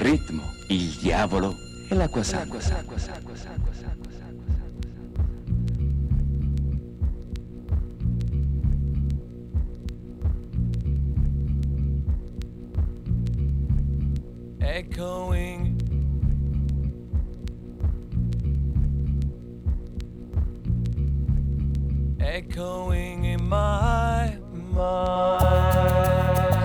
ritmo, il diavolo e l'acqua santa. Echoing, echoing in my mind.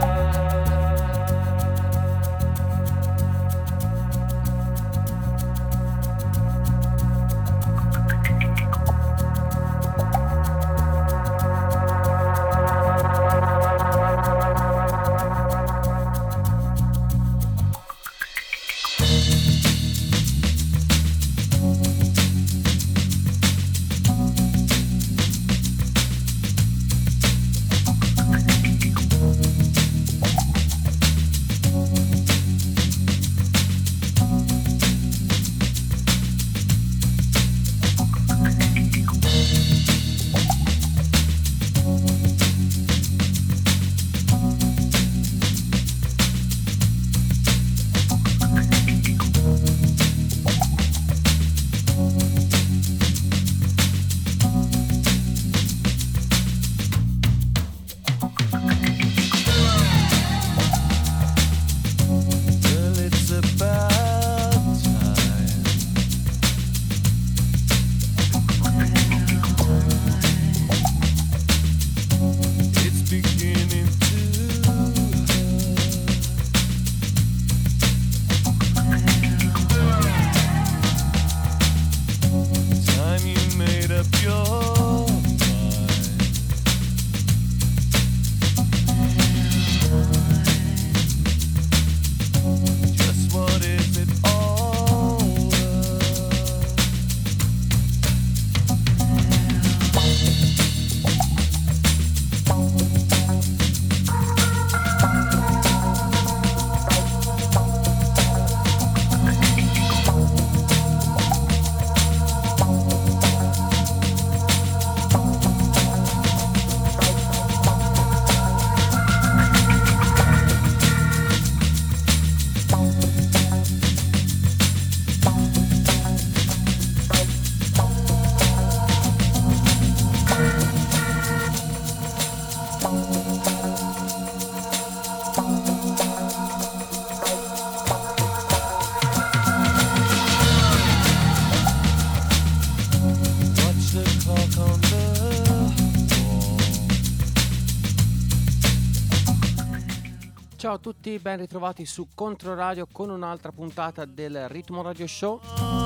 Ciao a tutti, ben ritrovati su Controradio con un'altra puntata del Ritmo Radio Show.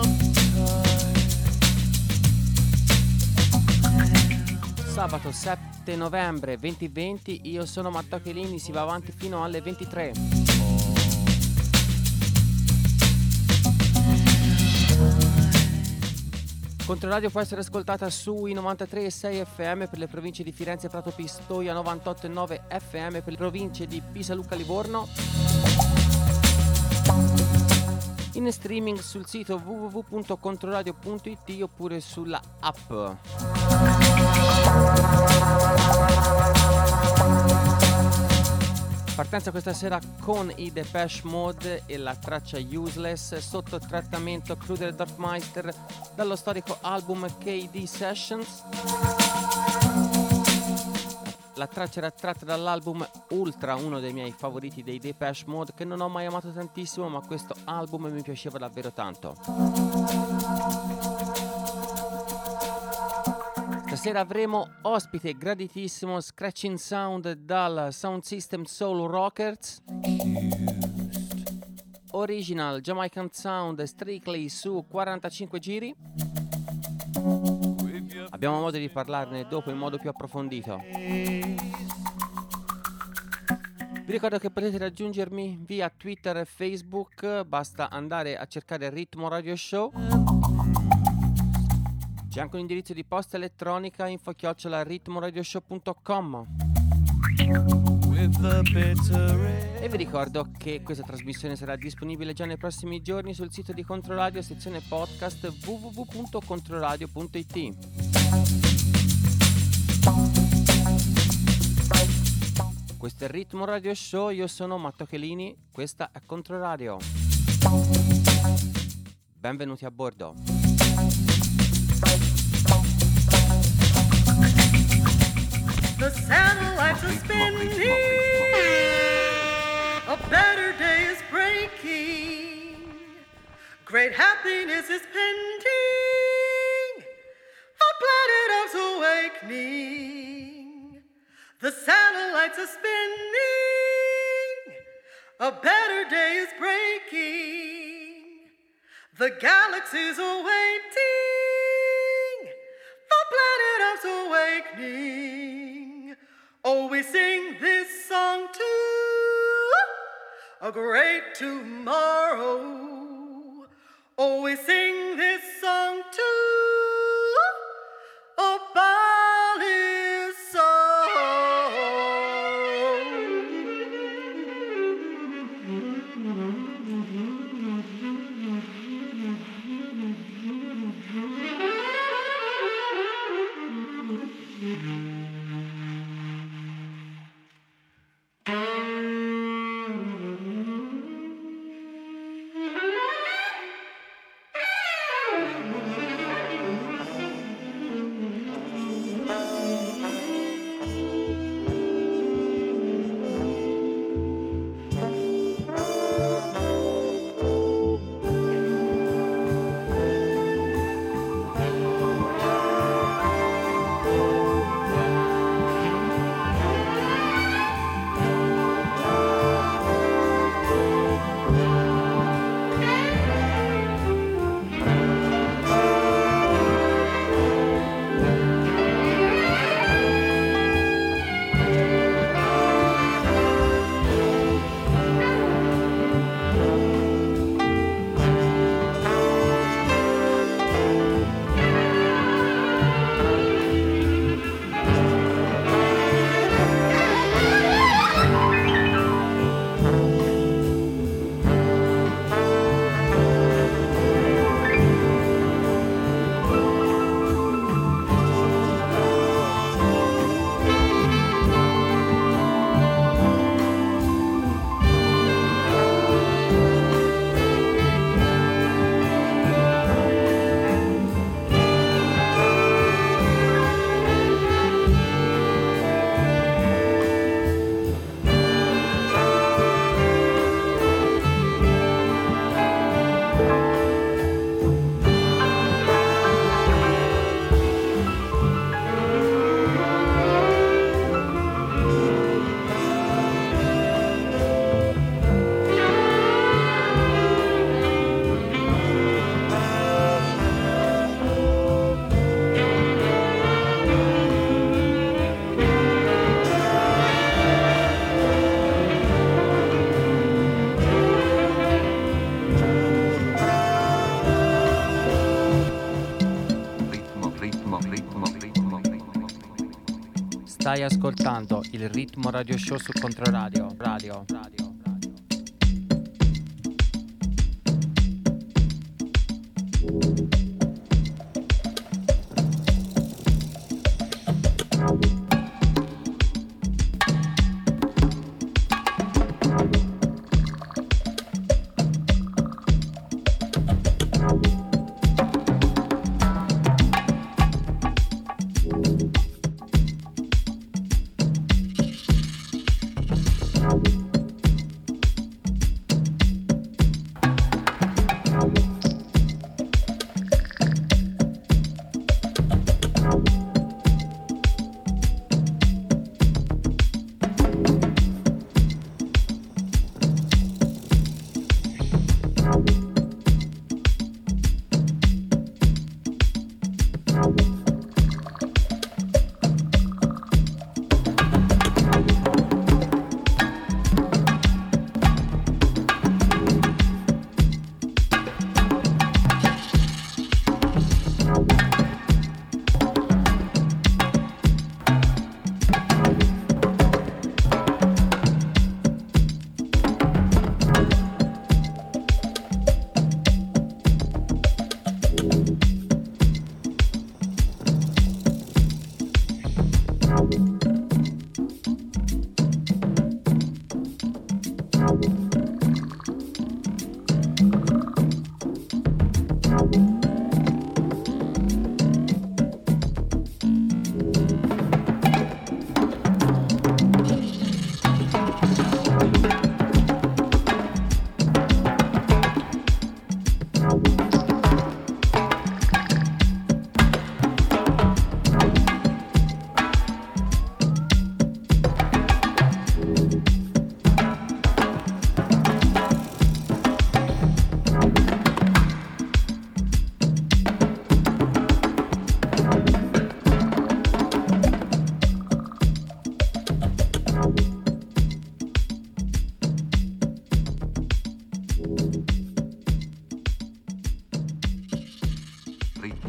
Sabato 7 novembre 2020, io sono Matteo Chelini, si va avanti fino alle 23. Controradio può essere ascoltata sui 93,6 FM per le province di Firenze, Prato, Pistoia, 98,9 FM per le province di Pisa, Lucca, Livorno. In streaming sul sito www.controradio.it oppure sulla app. Partenza questa sera con i Depeche Mode e la traccia Useless sotto trattamento Kruder Dorfmeister dallo storico album KD Sessions. La traccia era tratta dall'album Ultra, uno dei miei favoriti dei Depeche Mode, che non ho mai amato tantissimo, ma questo album mi piaceva davvero tanto. Stasera avremo ospite graditissimo Scratching Sound dal Sound System Soul Rockers, Original Jamaican Sound Strictly su 45 giri. Abbiamo modo di parlarne dopo in modo più approfondito. Vi ricordo che potete raggiungermi via Twitter e Facebook, basta andare a cercare Ritmo Radio Show. C'è anche un indirizzo di posta elettronica info@ritmoradioshow.com. E vi ricordo che questa trasmissione sarà disponibile già nei prossimi giorni sul sito di Controradio, sezione podcast www.controradio.it. Questo è il Ritmo Radio Show, io sono Matteo Chelini, questa è Controradio. Benvenuti a bordo. The satellites are spinning. A better day is breaking. Great happiness is pending. A planet Earth's awakening. The satellites are spinning. A better day is breaking. The galaxies are waiting. The planet Earth's awakening. Oh, we sing this song to a great tomorrow. Oh, we sing this song to a boundless Stai ascoltando il Ritmo Radio Show su Controradio. Radio.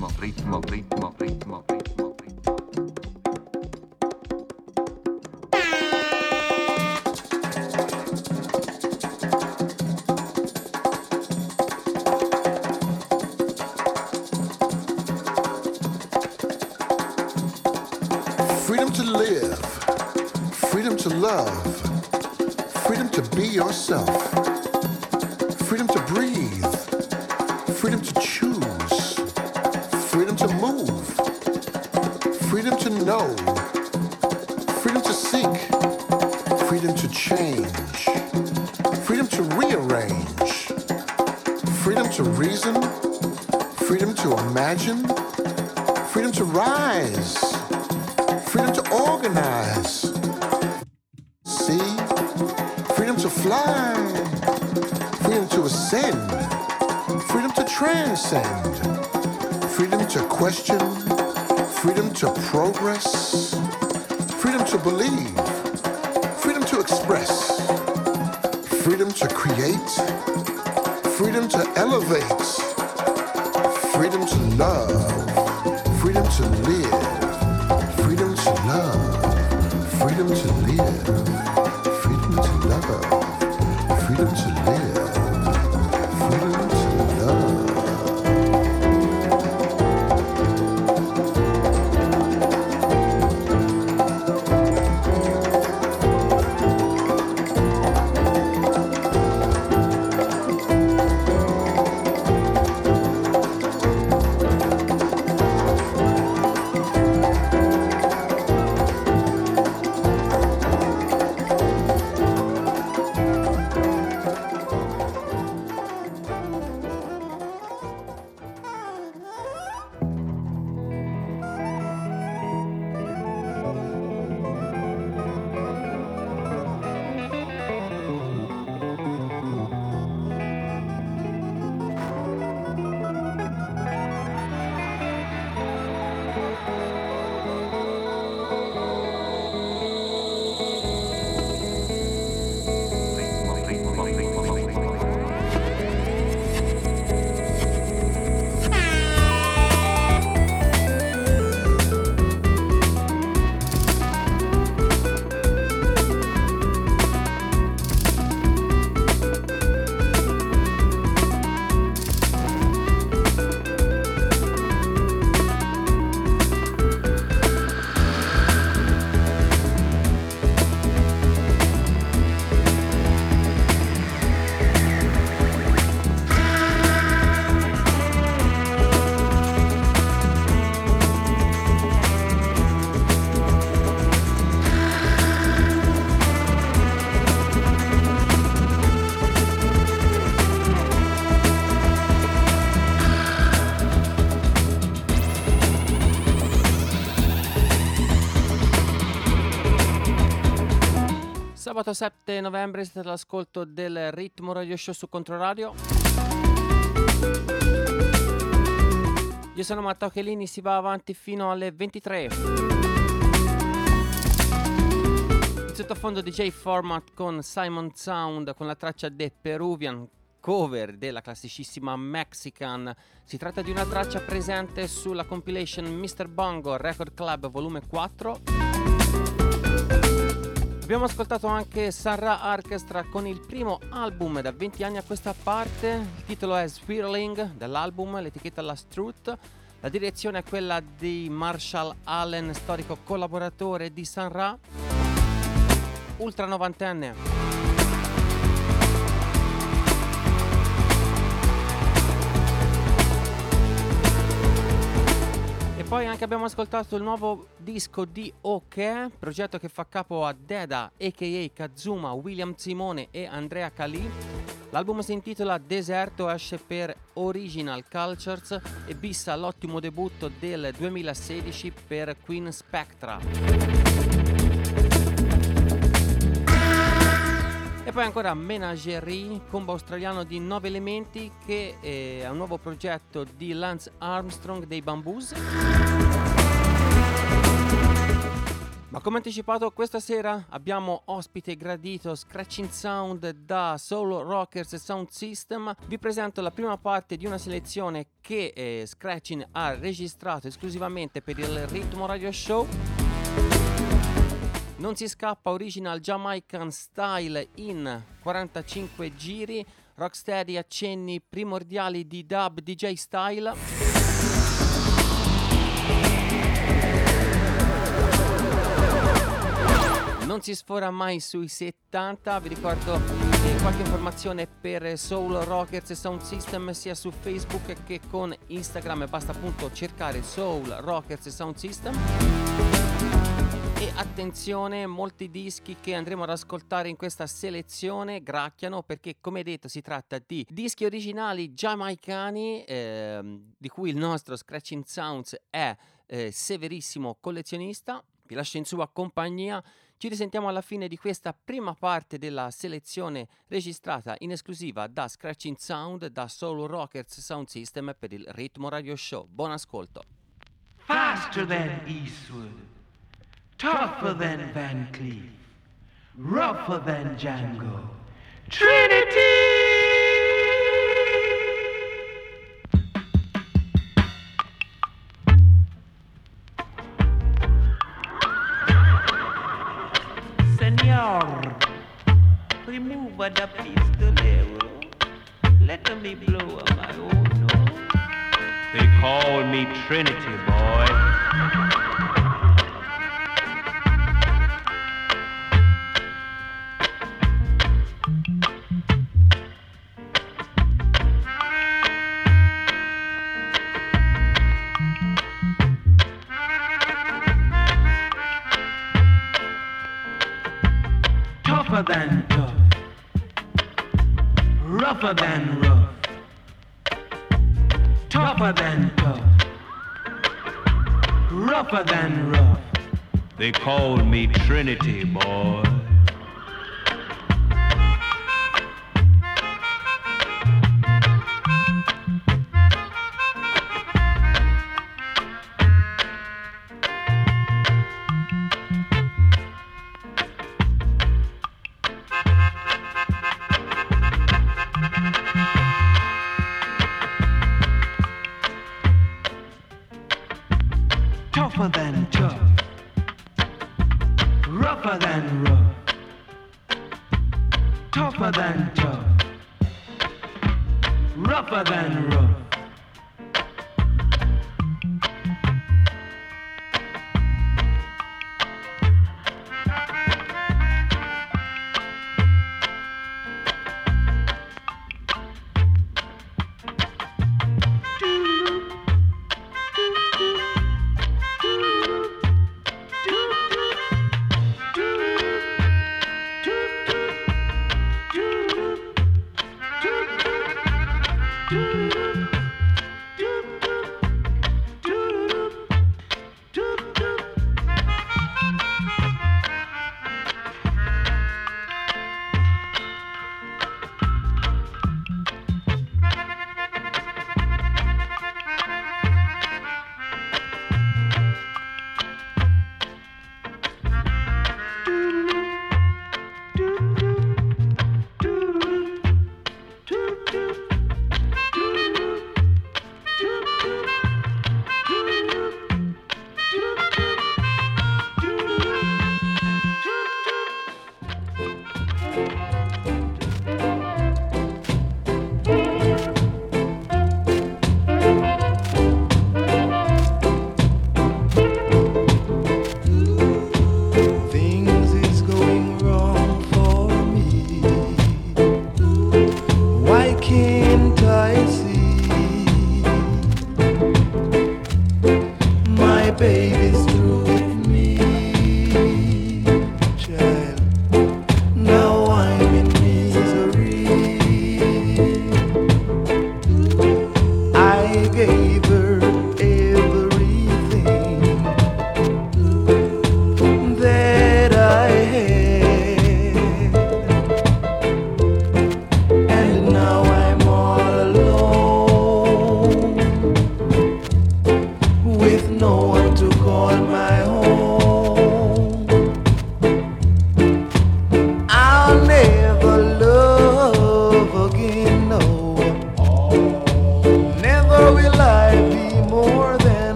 Freedom to live, freedom to love, freedom to be yourself, freedom to breathe, freedom to choose, freedom to move, freedom to know, freedom to seek, freedom to change, freedom to rearrange, freedom to reason, freedom to imagine, freedom to rise, freedom to organize, see, freedom to fly, freedom to ascend, freedom to transcend, freedom to question, freedom to progress, freedom to believe, freedom to express, freedom to create, freedom to elevate, freedom to love, freedom to live, freedom to love, freedom to live, freedom to love, freedom to live, freedom to love. Sabato 7 novembre siete all'ascolto del Ritmo Radio Show su Controradio. Io sono Matteo Chelini, si va avanti fino alle 23. Il sottofondo DJ Format con Simon Sound con la traccia The Peruvian, cover della classicissima Mexican. Si tratta di una traccia presente sulla compilation Mr. Bongo Record Club volume 4. Abbiamo ascoltato anche Sarah Orchestra con il primo album da 20 anni a questa parte. Il titolo è Swirling dell'album, l'etichetta è la Struth. La direzione è quella di Marshall Allen, storico collaboratore di Sun Ra, ultra novantenne. Poi anche abbiamo ascoltato il nuovo disco di OK, progetto che fa capo a Deda, a.k.a. Kazuma, William Simone e Andrea Calì. L'album si intitola Deserto, esce per Original Cultures e bissa l'ottimo debutto del 2016 per Queen Spectra. E poi ancora Menagerie, combo australiano di 9 elementi, che è un nuovo progetto di Lance Armstrong dei Bamboos. Ma come anticipato, questa sera abbiamo ospite gradito Scratching Sound da Soul Rockers Sound System. Vi presento la prima parte di una selezione che Scratching ha registrato esclusivamente per il Ritmo Radio Show. Non si scappa, original Jamaican style in 45 giri, rocksteady accenni primordiali di dub DJ style. Non si sfora mai sui 70, vi ricordo che qualche informazione per Soul Rockers Sound System sia su Facebook che con Instagram, basta appunto cercare Soul Rockers Sound System. E attenzione, molti dischi che andremo ad ascoltare in questa selezione gracchiano perché, come detto, si tratta di dischi originali giamaicani di cui il nostro Scratching Sounds è severissimo collezionista. Vi lascio in sua compagnia. Ci risentiamo alla fine di questa prima parte della selezione registrata in esclusiva da Scratching Sound da Soul Rockers Sound System per il Ritmo Radio Show. Buon ascolto. Faster than Eastwood, tougher than Van Cleef, rougher than Django, Trinity! Senor, remove the pistolero, let me blow up my own nose. They call me Trinity, boy. Tougher than tough, rougher than rough, tougher than tough, rougher than rough. They call me Trinity, boy. Tougher than tough, rougher than rough, tougher than tough, rougher than rough.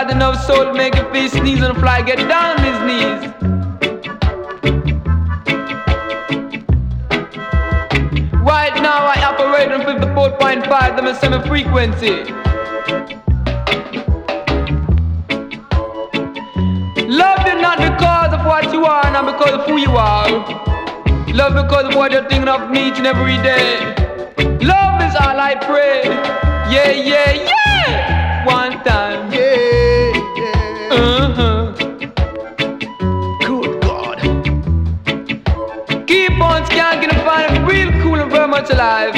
got enough soul to make your face sneeze and fly get down on his knees. Right now I operate on 54.5, them a semi-frequency. Love you not because of what you are, not because of who you are. Love because of what you're thinking of me each and every day. Love is all I pray. Yeah, yeah, yeah. One time. Yeah, yeah. Good God. Keep on skanking and finding real cool and very much alive.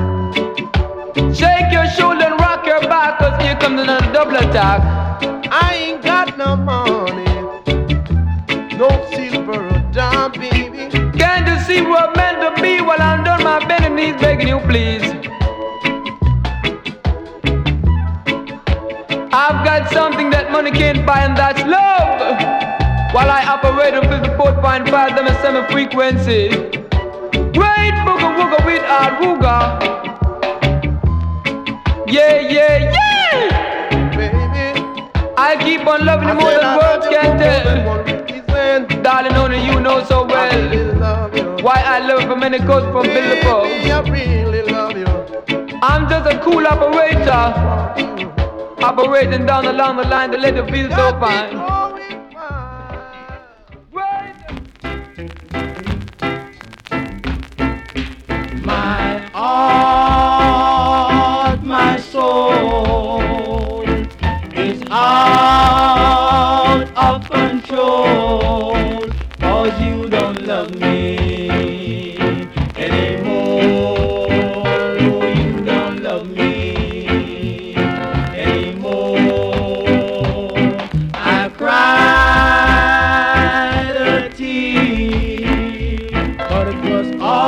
Shake your shoulder and rock your back, cause here comes another double attack. I ain't got no money, no silver or dime, baby. Can't you see we're meant to be while I'm done my bending knees begging you please? I've got something that money can't buy and that's love. While I operate on 54.5, them a semi-frequency. Great booga wooga with our wooga. Yeah, yeah, yeah. Baby, I keep on loving you more than words can tell. Darling, only you know so well why I love from many coasts from Billabong. I really love you. I'm just a cool operator, operating down along the line to let it feel so fine. My heart, my soul is out of control, 'cause you don't love me anymore. No, you don't love me anymore. I cried a tear, but it was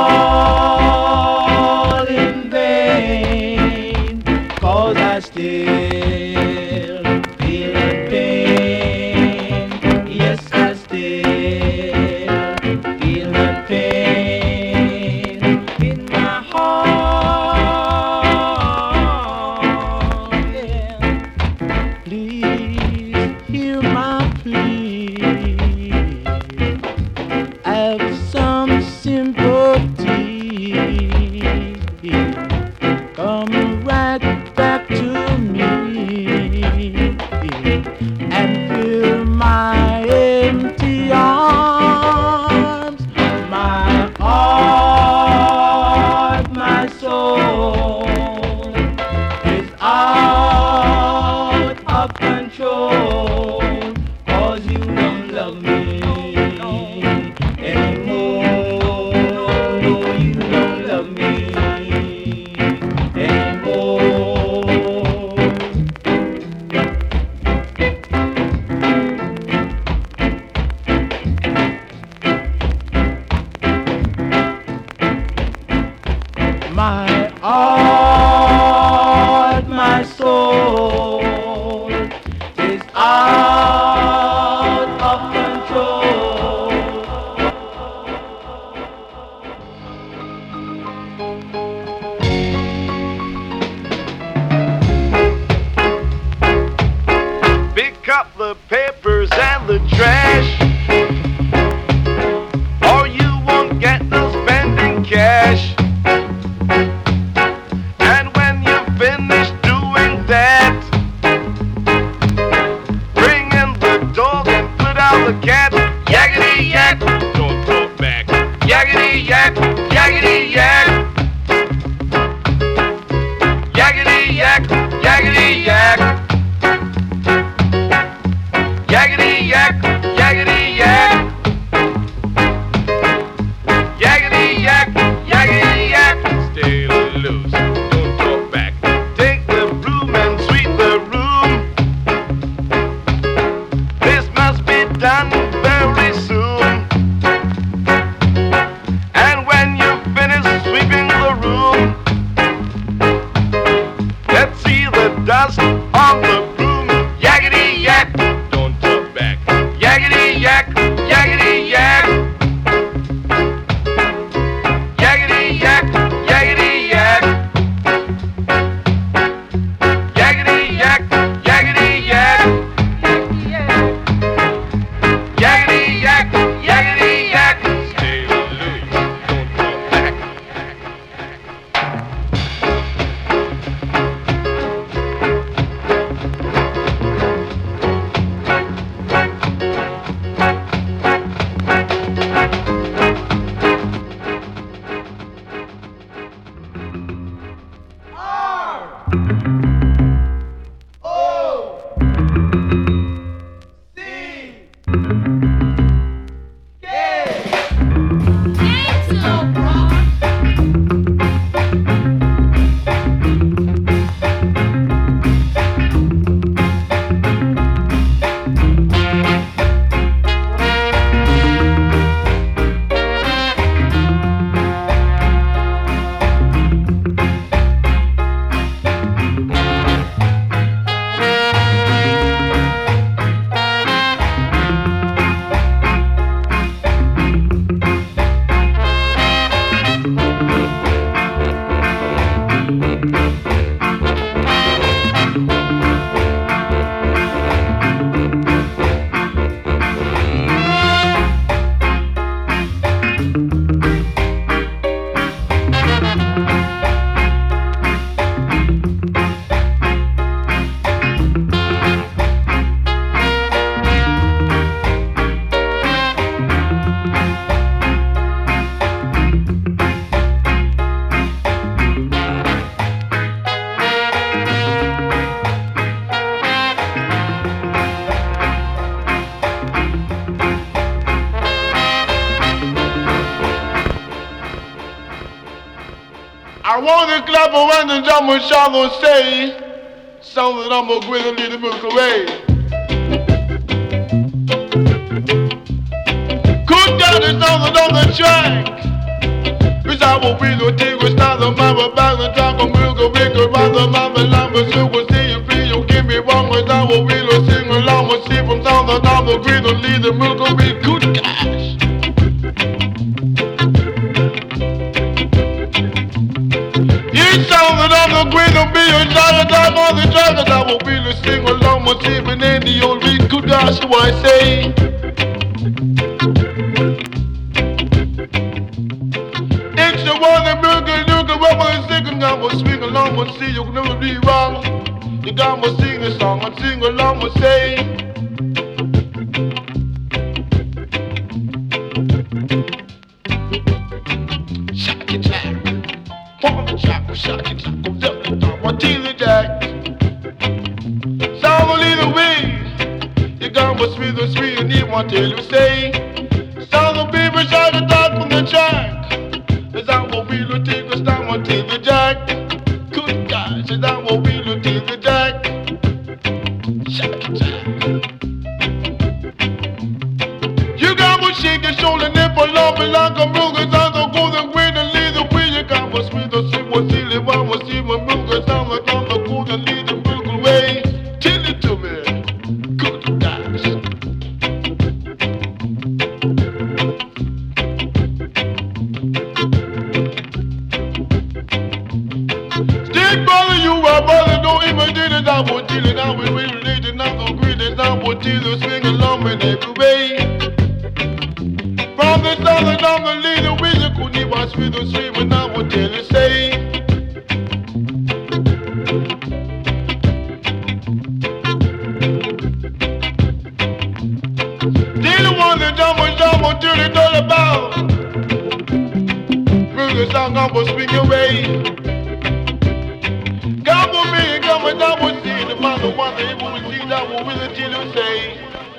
all in vain, 'cause I still feel the pain. Yes, I still feel the pain in my heart. Yeah. Please hear my plea. Have some sympathy. Come right back to me and fill my empty arms. My heart, my soul is out of control, 'cause you don't love me anymore. No, you don't love me anymore. My heart, my soul is out of control. Pick up the papers and the trash, or you won't get no spending cash. And when you finish doing that, bring in the dog and put out the cat. Yakety yak, don't talk back. Yakety yak, yakety yak. Yakety yak, yakety yak. Yakety yak, yakety yak. Yakety yak, yakety yak. Stay loose, don't talk back. Take the broom and sweep the room. This must be done very soon. And when you finish sweeping the room, let's see the dust on the broom. Yakety yak, don't talk back. Yakety yak, yakety yak. Yakety yak, yakety yak. Yakety yak, yakety yak. want to clap around the drum and shout and say something I'm gonna grin and lead the milk away. Good God, there's something on the track. Cause I will be no tingle, start the mama back and drop a milk away. Cause rather mama lamb and silver, see you feel you give me wrong. Cause I will be no sing along and see from sound that I'm the green and lead the milk away. Good gosh. Sound that I'm the green and be a shot attack on the track. Cause I will be the sing along with even in the old beat. Good gosh, so I say. It's the one that milk and you can rub and sing and I will swing along and see you can never be wrong. You got me sing a song and sing along and say. Sweet and you want to say some of the people shout the dog from the track. Cause I will be the take a stand on to the jack. Good God, cause I will be the take the jack. Shut the jack. You got me shake your shoulder, nipple, love me like a milk. Cause I'm the golden queen and lead the way. You got me sweet and sweet, what's the one was even milk. Cause I'm the golden lead the milk away. Tell it to me. I will deal it out with religion, I'm so greedy, I will deal it, swing along in every way. From the southern, I'm the leader, we the couldn't watch with the stream, and I will tell you, say. They the one that jump, till it's all about. Bring the song, I will swing away. Come with me, come with I will see the man, the one that will see that will really till you say.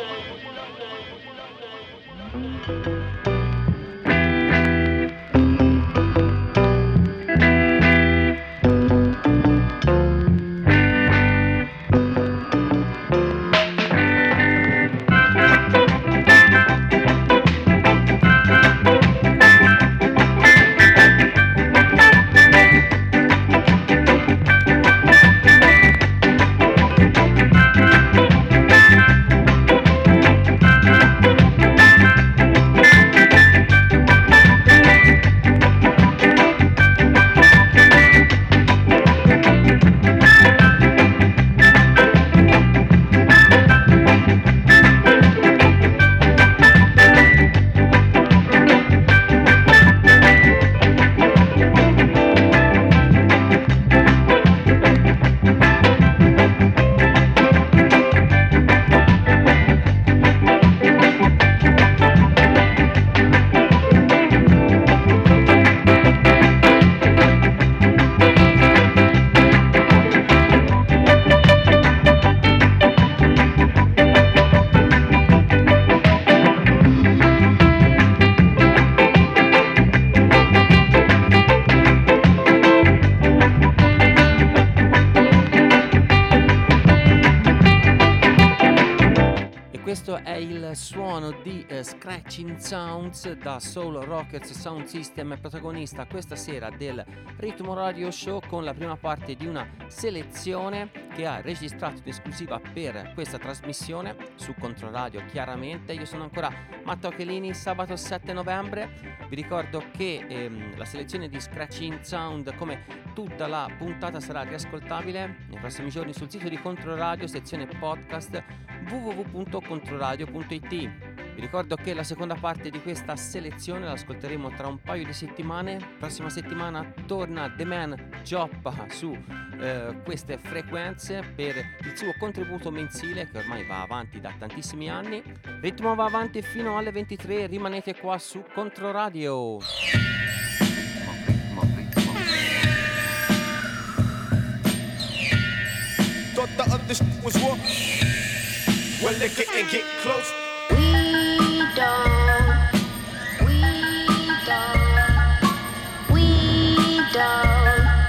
Suono di Scratching Sounds da Soul Rockets Sound System, protagonista questa sera del Ritmo Radio Show con la prima parte di una selezione che ha registrato in esclusiva per questa trasmissione su Controradio. Chiaramente io sono ancora Matteo Chelini. Sabato 7 novembre vi ricordo che la selezione di Scratching Sound, come tutta la puntata, sarà riascoltabile nei prossimi giorni sul sito di Controradio, sezione podcast www.controradio.it. Vi ricordo che la seconda parte di questa selezione l'ascolteremo tra un paio di settimane. Prossima settimana torna The Man Gioppa su queste frequenze per il suo contributo mensile che ormai va avanti da tantissimi anni. Ritmo va avanti fino alle 23, rimanete qua su Controradio. Thought the other shit was war. Well, they get close. We don't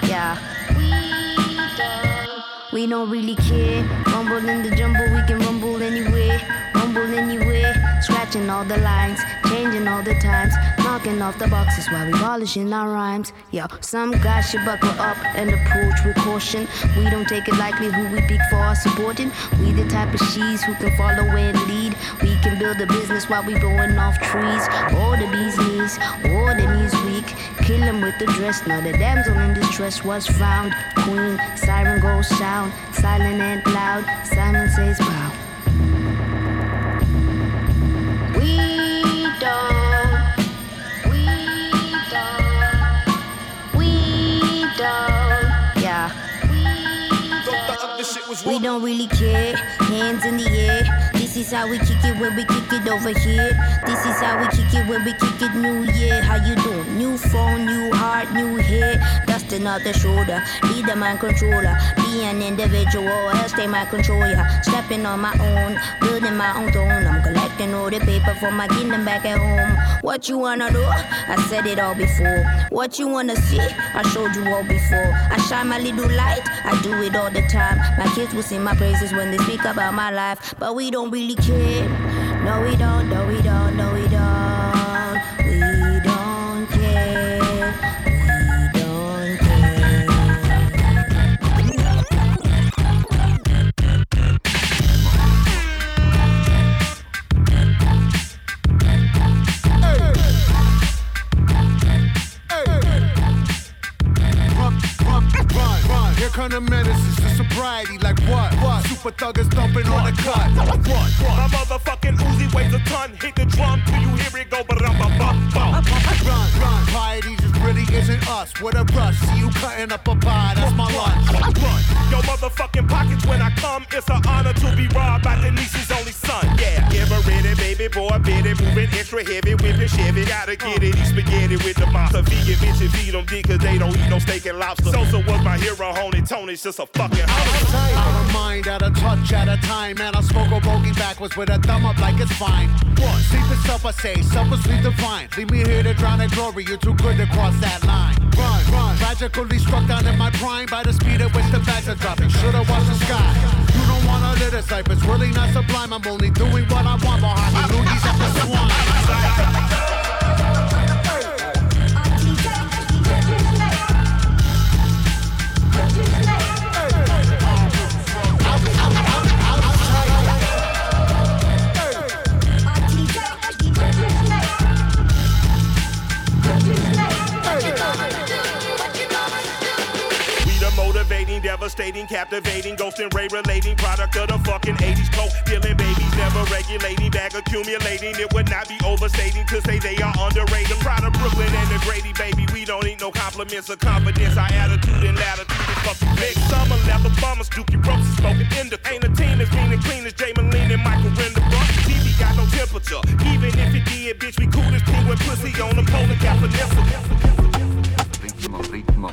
We don't really care. Rumble in the jumble, we can rumble anywhere. Rumble anywhere. Scratching all the lines, changing all the times, knocking off the boxes while we polishing our rhymes. Yo, some guys should buckle up and approach with caution. We don't take it lightly who we pick for our supporting. We the type of she's who can follow and lead. We can build a business while we blowing off trees. All the bee's knees, all the knees weak. Kill him with the dress. Now the damsel in distress was found. Queen, siren goes sound, silent and loud. Simon says bow. We don't, yeah. We don't really care. Hands in the air. This is how we kick it when we kick it over here. This is how we kick it when we kick it. New year, how you doing? New phone, new heart, new hair. Dusting off the shoulder. Be the mind controller. Be an individual, else they might control ya. Stepping on my own, building my own throne. I'm collecting all the paper for my kingdom back at home. What you wanna do? I said it all before. What you wanna see? I showed you all before. I shine my little light. I do it all the time. My kids will sing my praises when they speak about my life. But we don't really care. No, we don't, no, we don't, no, we don't. We don't care. We don't care. Run. Here come the menaces to sobriety. Like what? Super thuggers thumping on the cut. My motherfucking Uzi weighs a ton. Hit the drum till you hear it go ba-dum-ba-bum-bum. Run. Piety just really isn't us. What a rush. See you cutting up a pie. That's my lunch. Run. Yo motherfucking pockets when I come. It's an honor to be robbed by Denise's only son. Yeah. Ever ready, baby boy, bit it. Moving extra heavy, whipping Chevy. Gotta get it. Eat spaghetti with the monster. Vegan bitches feed them dick cause they don't eat no steak and lobster. Sosa was my hero, Honey Tony's just a fucking out of mind, out of touch at a time. Man, I smoke a bogey backwards with a thumb up like it's fine. What? Sleep is up, I say, supper sleep divine. Leave me here to drown in glory, you're too good to cross that line. Run, magically struck down in my prime by the speed at which the bags are dropping. Should've watched the sky. You don't wanna live this life, it's really not sublime. I'm only doing what I want behind the loogies at the swine. Devastating, captivating, ghost and ray relating, product of the fucking 80s, coke dealing babies, never regulating, bag accumulating. It would not be overstating to say they are underrated. Proud of Brooklyn and the Grady, baby. We don't need no compliments or confidence. Our attitude and latitude is fucking big. Summer leather bummers, Dookie Ropes is smoking in the. Ain't a team as mean and clean as Jay Moline and Michael Renderbrook. TV got no temperature, even if it did, bitch. We cool as king with pussy on the pole and got Vanessa. Ritmo.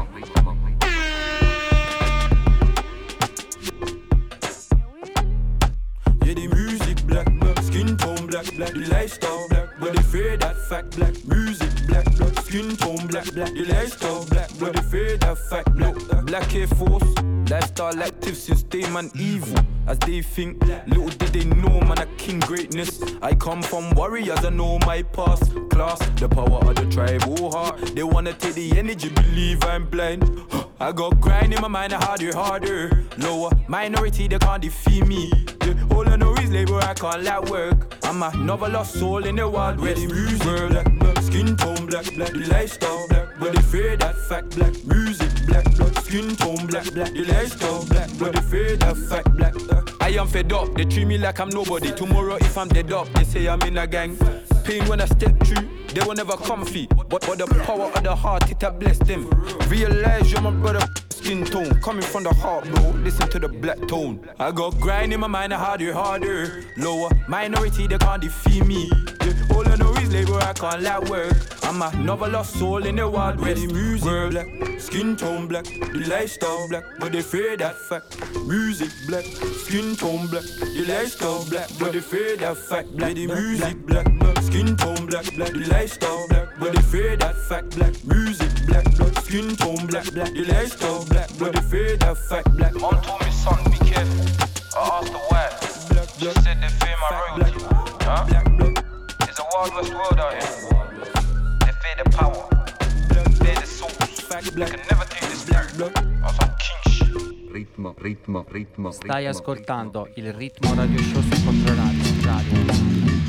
Yeah, the music black, skin tone black, the lifestyle black, but they fear that fact black. Music black, skin tone black, the lifestyle black, but they fear that fact black. Black Air Force, lifestyle active since day man evil. As they think, little did they know man a king greatness. I come from warriors, I know my past class. The power of the tribal heart. They wanna take the energy, believe I'm blind. I got grind in my mind, harder. Lower minority, they can't defeat me. All I know is labor, I can't let work. I'm another lost soul in the wild west. The music black, skin tone black, the lifestyle black, but they fear that fact black. Music black, skin tone black, the lifestyle black, but they fear that fact black. I am fed up, they treat me like I'm nobody. Tomorrow if I'm dead up, they say I'm in a gang. Pain when I step through, they will never comfy. But the power of the heart, it have blessed them. Realize you're my brother. Skin tone, coming from the heart, bro. Listen to the black tone. I got grind in my mind, harder. Lower minority, they can't defeat me. All I know is labor, I can't let work. I'm another lost soul in the wild west. The music black, skin tone black, the lifestyle black, but they fear that fact. Music black, skin tone black, the lifestyle black, but they fear that fact. Black, the music black, skin tone black, the lifestyle black, but they fear that fact. Black music. black blood, skin tone black black, the lifestyle black blood, the fear that fact black. Mom told me, son, be careful. I asked her why. She said they fear my royalty. Huh? It's a wild west world out here. They fear the power. They fear the souls. They can never take this black blood on some king shit. Ritmo. Stai ascoltando il Ritmo Radio Show su Controradio.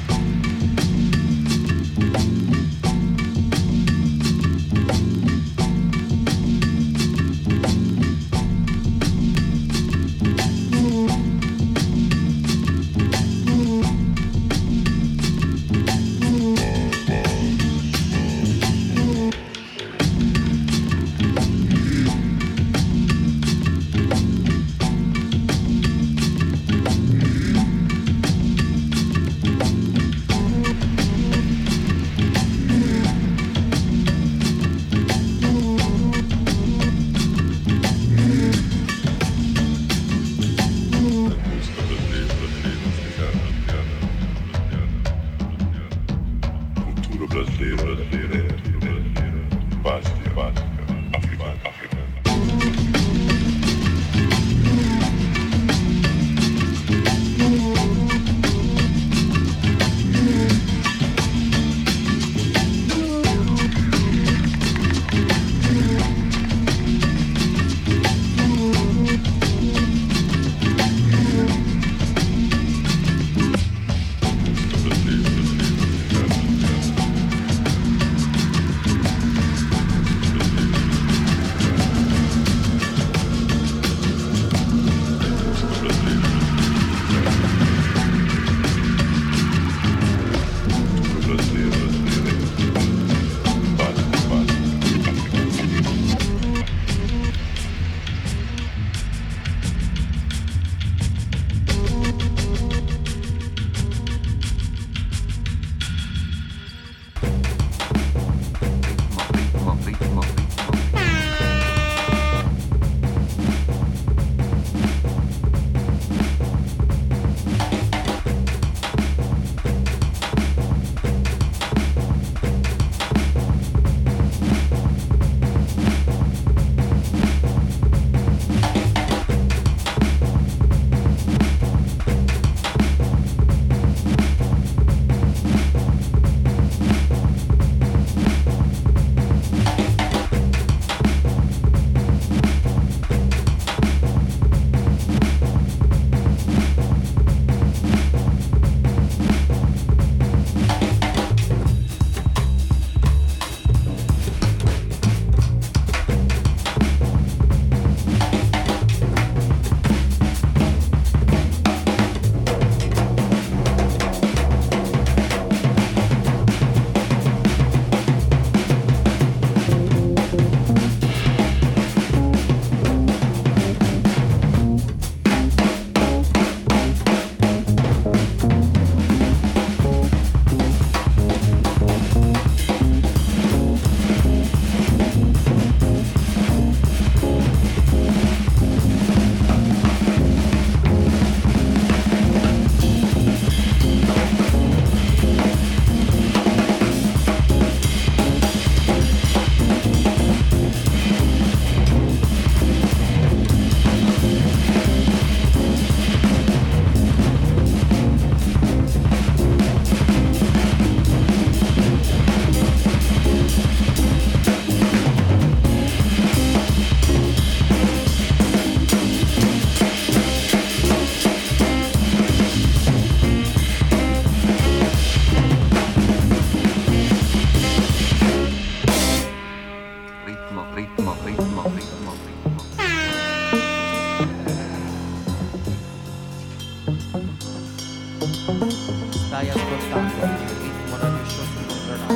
Stai ascoltando il Ritmo Radio Show su Controradio.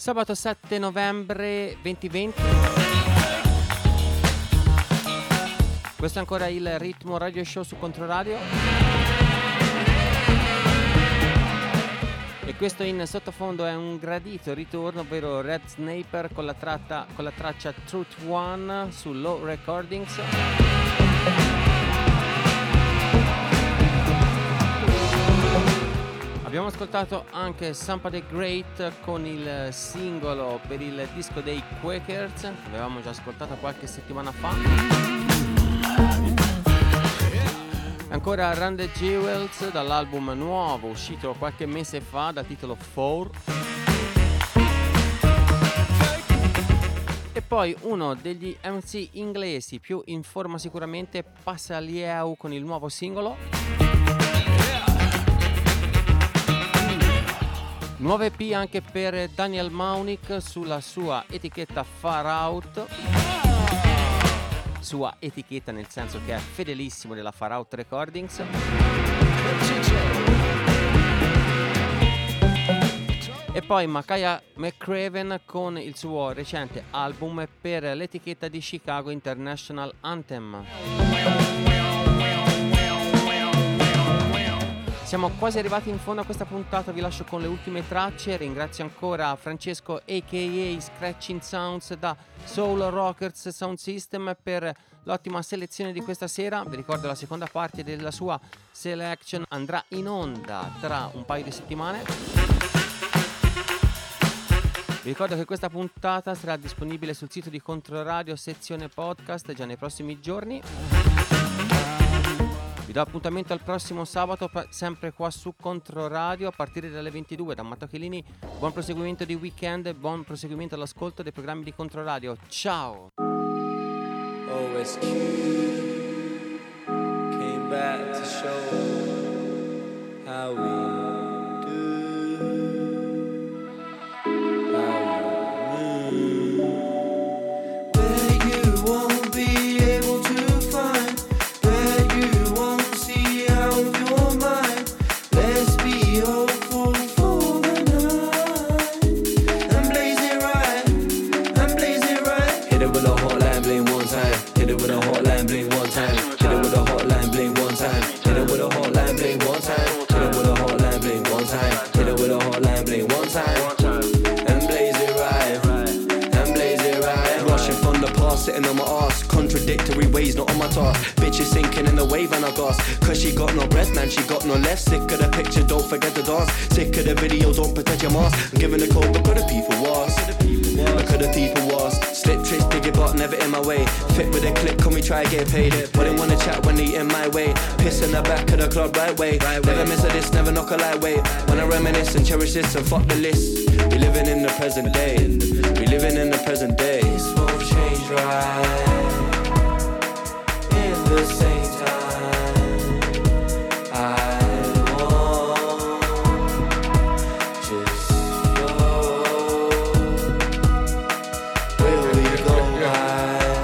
Sabato 7 novembre 2020. Questo è ancora il Ritmo Radio Show su Controradio. E questo in sottofondo è un gradito ritorno, ovvero Red Sniper con la traccia Truth One su Low Recordings. Abbiamo ascoltato anche Sampa the Great con il singolo per il disco dei Quakers, che avevamo già ascoltato qualche settimana fa. Ancora Run the Jewels dall'album nuovo uscito qualche mese fa dal titolo 4. E poi uno degli MC inglesi più in forma sicuramente, Pasalieu con il nuovo singolo. Nuova EP anche per Daniel Maunick sulla sua etichetta Far Out. Sua etichetta nel senso che è fedelissimo della Far Out Recordings. E poi Makaya McCraven con il suo recente album per l'etichetta di Chicago International Anthem. Siamo quasi arrivati in fondo a questa puntata, vi lascio con le ultime tracce. Ringrazio ancora Francesco a.k.a. Scratching Sounds da Soul Rockers Sound System per l'ottima selezione di questa sera. Vi ricordo la seconda parte della sua selection andrà in onda tra un paio di settimane. Vi ricordo che questa puntata sarà disponibile sul sito di Controradio sezione podcast già nei prossimi giorni. Vi do appuntamento al prossimo sabato, sempre qua su Controradio a partire dalle 22 da Matteo Chelini. Buon proseguimento di weekend e buon proseguimento all'ascolto dei programmi di Controradio. Ciao! OSQ came back to show how we do, how we move. Where you won't be able to find, where you won't see out of your mind. Let's be hopeful for the night and blaze it right, and blaze it right. Hit it with a hotline bling one time. Hit it with a hotline bling one time. Hit it with a hotline bling one time. Hit it with a hotline bling one time. Hit it with a hotline bling one time. Hit it with a hotline bling one time. And blaze it right, and blaze it right. Rushing from the past, sitting on my ass. Contradictory ways, not on my task. Bitch is sinking in the wave and I gas. Cause she got no breath, man, she got no left. Sick of the picture, don't forget the dance. Sick of the video, don't protect your mask. I'm giving the code, look at the people was. Look at the people was. Slip tricks, dig it, but never in my way. Fit with a clip, can we try get paid? Wouldn't wanna chat when they in my way. Piss in the back of the club right way. Never miss a this, never knock a lightweight. When I reminisce and cherish this and fuck the list. We living in the present day. We living in the present day. This won't change right. In the same time, I want just show. Will we go right?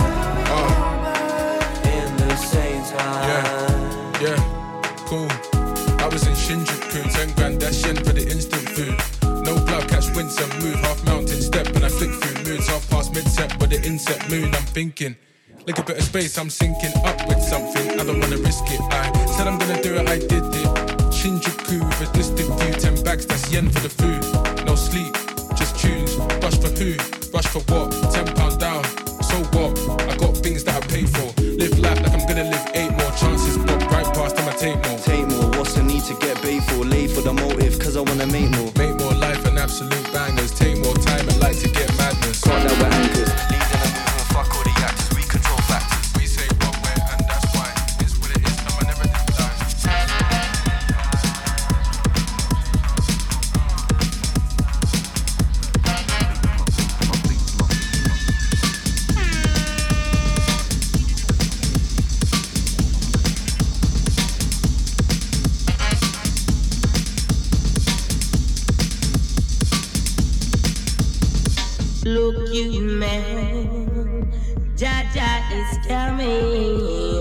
In the same time. Yeah, cool. I was in Shinjuku, 10 grand, that's yen for the instant food. No blood, catch winds and move. Half mountain step and I flick through moods. Half past mid-set with the inset moon. I'm thinking, like a bit of space, I'm sinking up with something. I don't wanna risk it. I said I'm gonna do it, I did it. Shinjuku with a distant view. 10 bags, that's yen for the food. No sleep, just tunes. Rush for who? Rush for what? £10 down. So what? I got things that I pay for. Live life like I'm gonna live 8 more chances. But right past them I take more. Take more, what's the need to get paid for? Late for the motive, cause I wanna make more. Make more life and absolute bangers. Take more time and like to get madness. Can't let we're anchors. Leading a movement, fuck all the actors. We control factors. We say wrong way and that's why. It's what it is, no one never did die. Look, you man, Jaja is coming.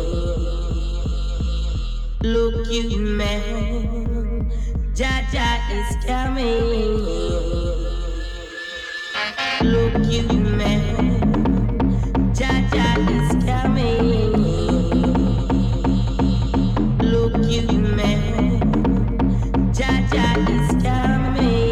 Look, you man, Jaja is coming. you, man. Jaja is coming. Look you, man. Jaja is coming.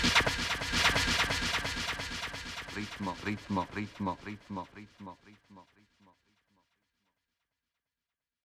ritmo, ritmo, ritmo, ritmo, ritmo, ritmo.